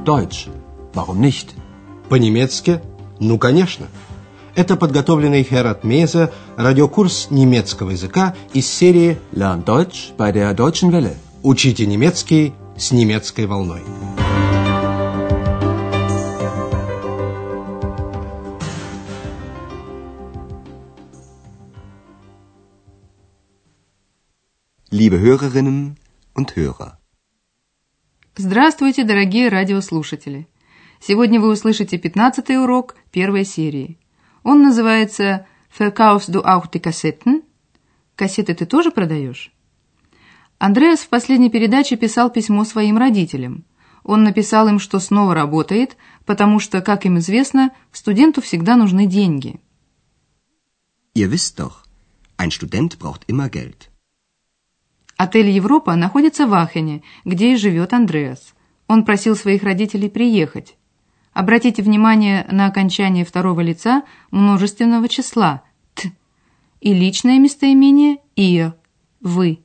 Deutsch. Warum nicht? По-немецки? Ну, конечно. Это подготовленный Херат Мейзе радиокурс немецкого языка из серии Lern Deutsch bei der Deutschen Welle. «Учите немецкий с немецкой волной». Liebe Hörerinnen und Hörer. Здравствуйте, дорогие радиослушатели! Сегодня вы услышите 15-й урок первой серии. Он называется «Verkaufst du auch die Kassetten?» «Кассеты ты тоже продаешь?» Андреас в последней передаче писал письмо своим родителям. Он написал им, что снова работает, потому что, как им известно, студенту всегда нужны деньги. Ihr wisst doch, ein Student braucht immer Geld. Отель «Европа» находится в Ахене, где и живет Андреас. Он просил своих родителей приехать. Обратите внимание на окончание второго лица множественного числа «т» и личное местоимение «ihr» – «вы».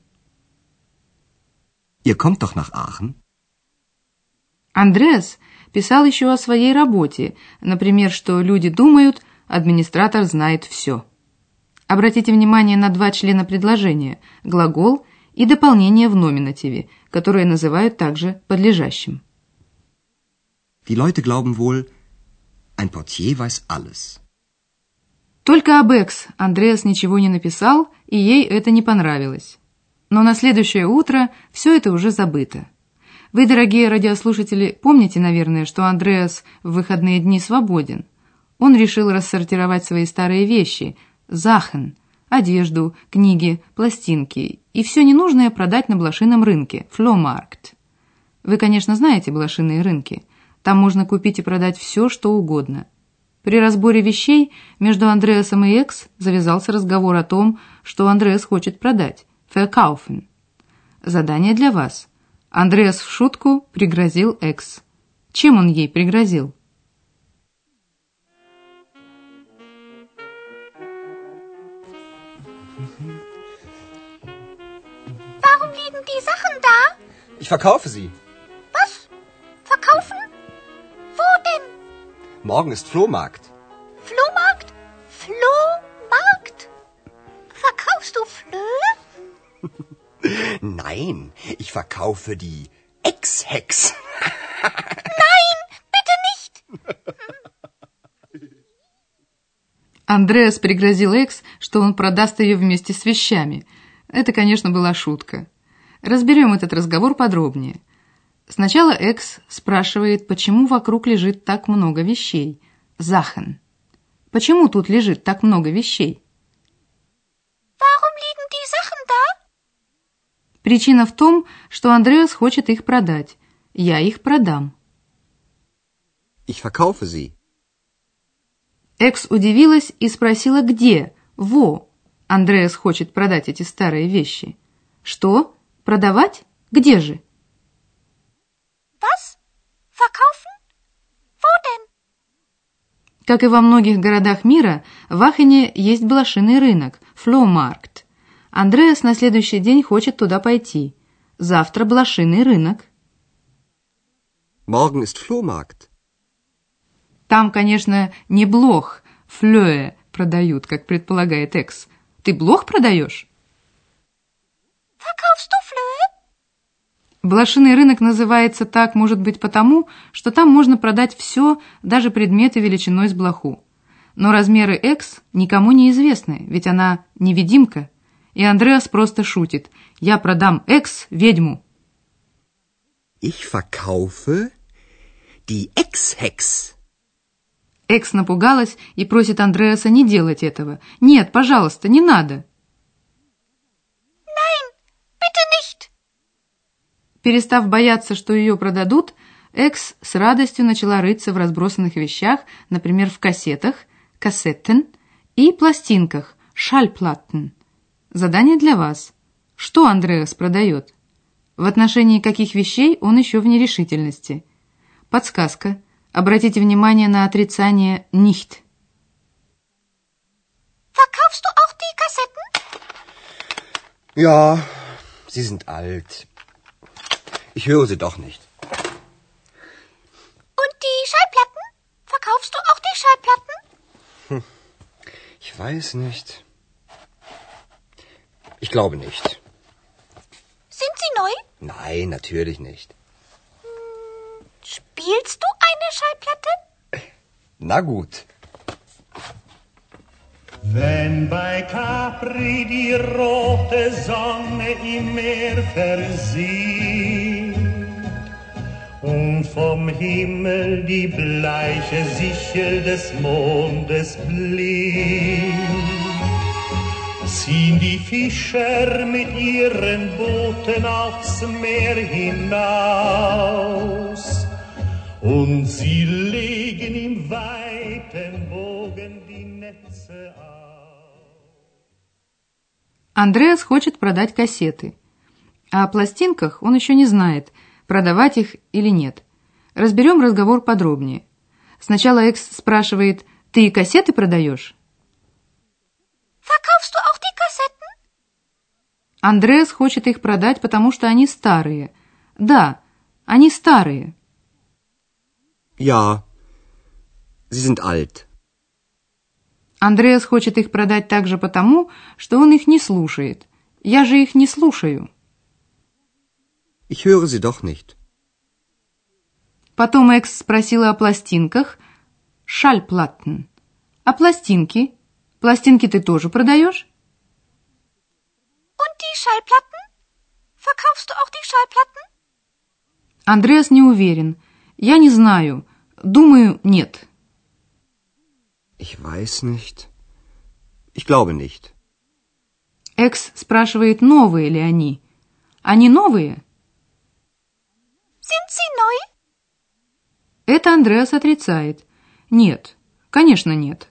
Ihr kommt doch nach Aachen? Андреас писал еще о своей работе, например, что люди думают, администратор знает все. Обратите внимание на два члена предложения – глагол и дополнение в номинативе, которое называют также подлежащим. Die Leute glauben wohl, ein Portier weiß alles. Только об Экс Андреас ничего не написал, и ей это не понравилось. Но на следующее утро все это уже забыто. Вы, дорогие радиослушатели, помните, наверное, что Андреас в выходные дни свободен. Он решил рассортировать свои старые вещи – Sachen, одежду, книги, пластинки и все ненужное продать на блошином рынке – Flohmarkt. Вы, конечно, знаете блошиные рынки. Там можно купить и продать все, что угодно. При разборе вещей между Андреасом и Экс завязался разговор о том, что Андреас хочет продать – Verkaufen. Задание для вас. Андреас в шутку пригрозил Экс. Чем он ей пригрозил? Warum liegen die Sachen da? Ich verkaufe sie. Was? Verkaufen? Wo denn? Morgen ist Flohmarkt. Flohmarkt? Flohmarkt? Verkaufst du Flöhe? Nein, ich verkaufe die Ex-Hex. Nein, bitte nicht! Андреас пригрозил Экс, что он продаст ее вместе с вещами. Это, конечно, была шутка. Разберем этот разговор подробнее. Сначала Экс спрашивает, почему вокруг лежит так много вещей. Sachen. Почему тут лежит так много вещей? Warum liegen die Sachen da? Причина в том, что Андреас хочет их продать. Я их продам. Ich verkaufe sie. Экс удивилась и спросила, где, во, Андреас хочет продать эти старые вещи. Что? Продавать? Где же? Was? Verkaufen? Wo denn? Как и во многих городах мира, в Ахене есть блошиный рынок, Flohmarkt. Андреас на следующий день хочет туда пойти. Завтра блошиный рынок. Morgen ist Flohmarkt. Там, конечно, не блох, Flöhe продают, как предполагает Экс. Ты блох продаешь? Verkaufst du Flöhe? Блошиный рынок называется так, может быть, потому, что там можно продать все, даже предметы величиной с блоху. Но размеры Экс никому не известны, ведь она невидимка. И Андреас просто шутит. Я продам Экс ведьму. Ich verkaufe die Ex-Hex. Экс напугалась и просит Андреаса не делать этого. Нет, пожалуйста, не надо. Nein, bitte nicht! Перестав бояться, что ее продадут, Экс с радостью начала рыться в разбросанных вещах, например, в кассетах, Kassetten, и пластинках, Schallplatten. Задание для вас. Что Андреас продает? В отношении каких вещей он еще в нерешительности? Подсказка. Обратите внимание на отрицание nicht. Verkaufst du auch die Kassetten? Ja, sie sind alt. Ich höre sie doch nicht. weiß nicht. Ich glaube nicht. Sind sie neu? Nein, natürlich nicht. Spielst du eine Schallplatte? Na gut. Wenn bei Capri die rote Sonne im Meer versieht und vom Himmel die bleiche Sichel des Mondes blinkt, ziehen die Fischer mit ihren Booten aufs Meer hinaus und sie legen im weiten Bogen die Netze aus. Андреас хочет продать кассеты. А о пластинках он еще не знает, продавать их или нет. Разберем разговор подробнее. Сначала Экс спрашивает: «Ты и кассеты продаешь?» Verkaufst du auch die Kassetten? Андреас хочет их продать, потому что они старые. Да, они старые. Ja, sie sind alt. Андреас хочет их продать также потому, что он их не слушает. Я же их не слушаю. Ich höre sie doch nicht. Потом Экс спросила о пластинках. Schallplatten. А пластинки? Пластинки ты тоже продаешь? Und die Schallplatten? Verkaufst du auch die Schallplatten? Андреас не уверен. Я не знаю. Думаю, нет. Ich weiß nicht. Ich glaube nicht. Экс спрашивает, новые ли они. Они новые? Sind sie neu? Это Андреас отрицает. Нет, конечно нет.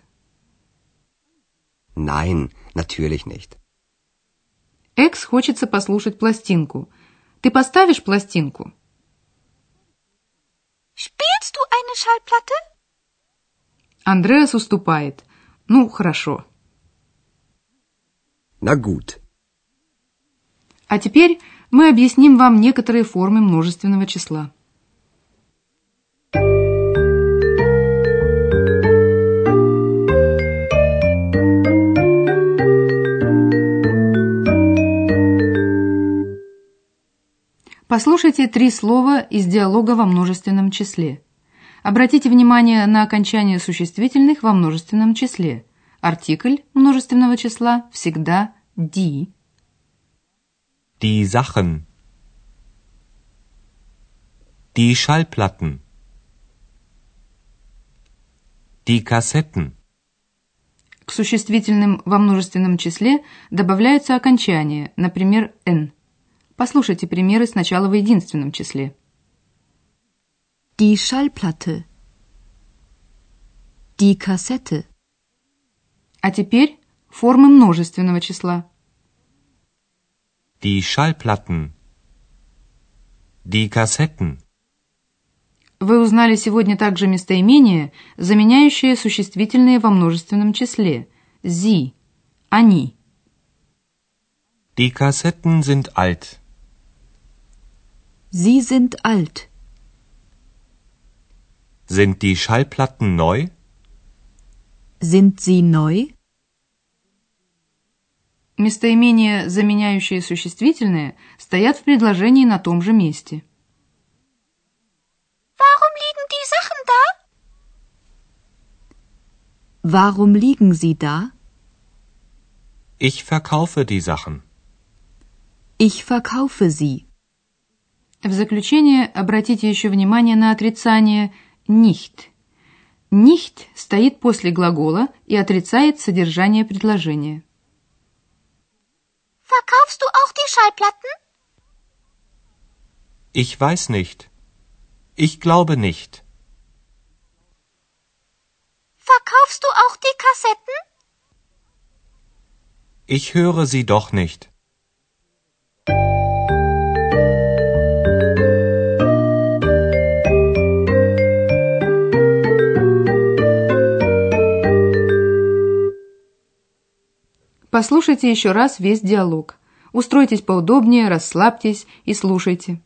Nein, natürlich nicht. Экс хочется послушать пластинку. Ты поставишь пластинку? Spielst du eine Schallplatte? Андреас уступает. Ну, хорошо. Na gut. А теперь мы объясним вам некоторые формы множественного числа. Послушайте 3 слова из диалога во множественном числе. Обратите внимание на окончание существительных во множественном числе. Артикль множественного числа всегда die. Die Sachen. Die Schallplatten. Die Kassetten. К существительным во множественном числе добавляются окончания, например, n. Послушайте примеры сначала в единственном числе. Die Schallplatte. Die Kassette. А теперь формы множественного числа. Die Schallplatten. Die Kassetten. Вы узнали сегодня также местоимение, заменяющее существительные во множественном числе. Sie, они. Die Kassetten sind alt. Sie sind alt. Sind die Schallplatten neu? Sind sie neu? Местоимения, заменяющие существительные, стоят в предложении на том же месте. Warum liegen die Sachen da? Warum liegen sie da? Ich verkaufe die Sachen. Ich verkaufe sie. В заключение обратите еще внимание на отрицание nicht. Nicht стоит после глагола и отрицает содержание предложения. Verkaufst du auch die Schallplatten? Ich weiß nicht. Ich glaube nicht. Verkaufst du auch die Kassetten? Ich höre sie doch nicht. Послушайте еще раз весь диалог. Устройтесь поудобнее, расслабьтесь и слушайте.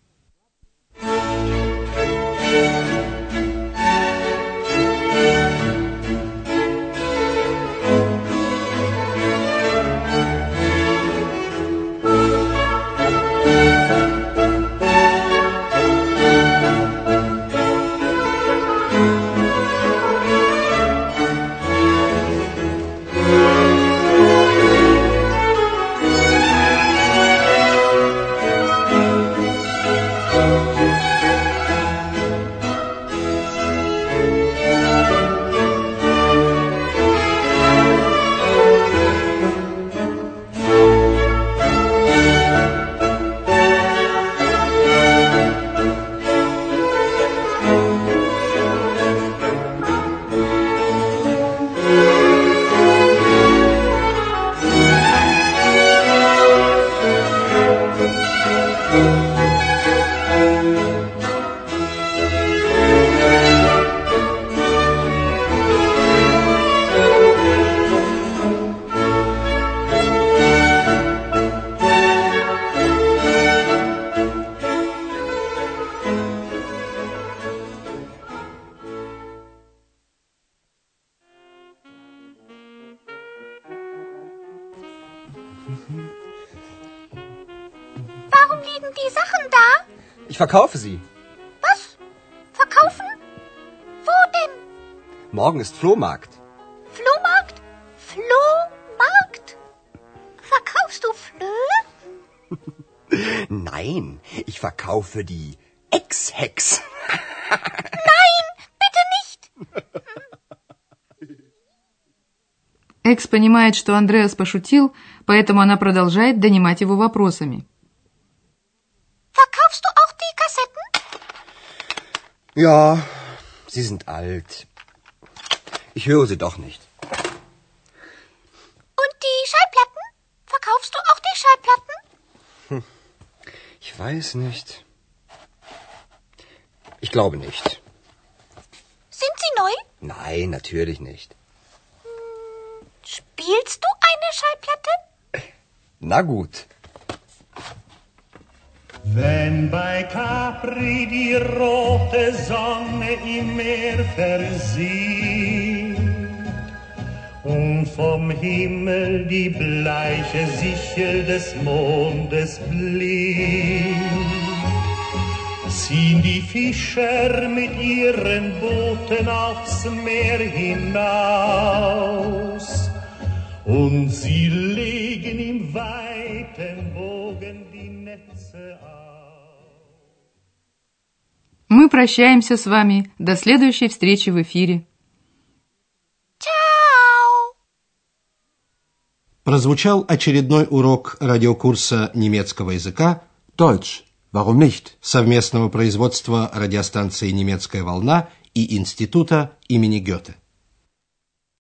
liegen die Sachen da? Ich verkaufe sie. Was? Verkaufen? Wo denn? Morgen ist Flohmarkt. Flohmarkt? Flohmarkt? Verkaufst du Flöhe? Nein, ich verkaufe die Ex-Hex. Nein, bitte nicht. Экс понимает, что Андреас пошутил, поэтому она продолжает донимать его вопросами. Verkaufst du auch die Kassetten? Ja, sie sind alt. Ich höre sie doch nicht. Und die Schallplatten? Verkaufst du auch die Schallplatten? Ich weiß nicht. Ich glaube nicht. Sind sie neu? Nein, natürlich nicht. Spielst du eine Schallplatte? Na gut. Wenn bei Capri die rote Sonne im Meer versieht und vom Himmel die bleiche Sichel des Mondes blinkt, ziehen die Fischer mit ihren Booten aufs Meer hinaus und sie legen im weiten Bogen die Netze aus. Мы прощаемся с вами. До следующей встречи в эфире. Ciao! Прозвучал очередной урок радиокурса немецкого языка Deutsch. Warum nicht? совместного производства радиостанции «Немецкая волна» и Института имени Гёте.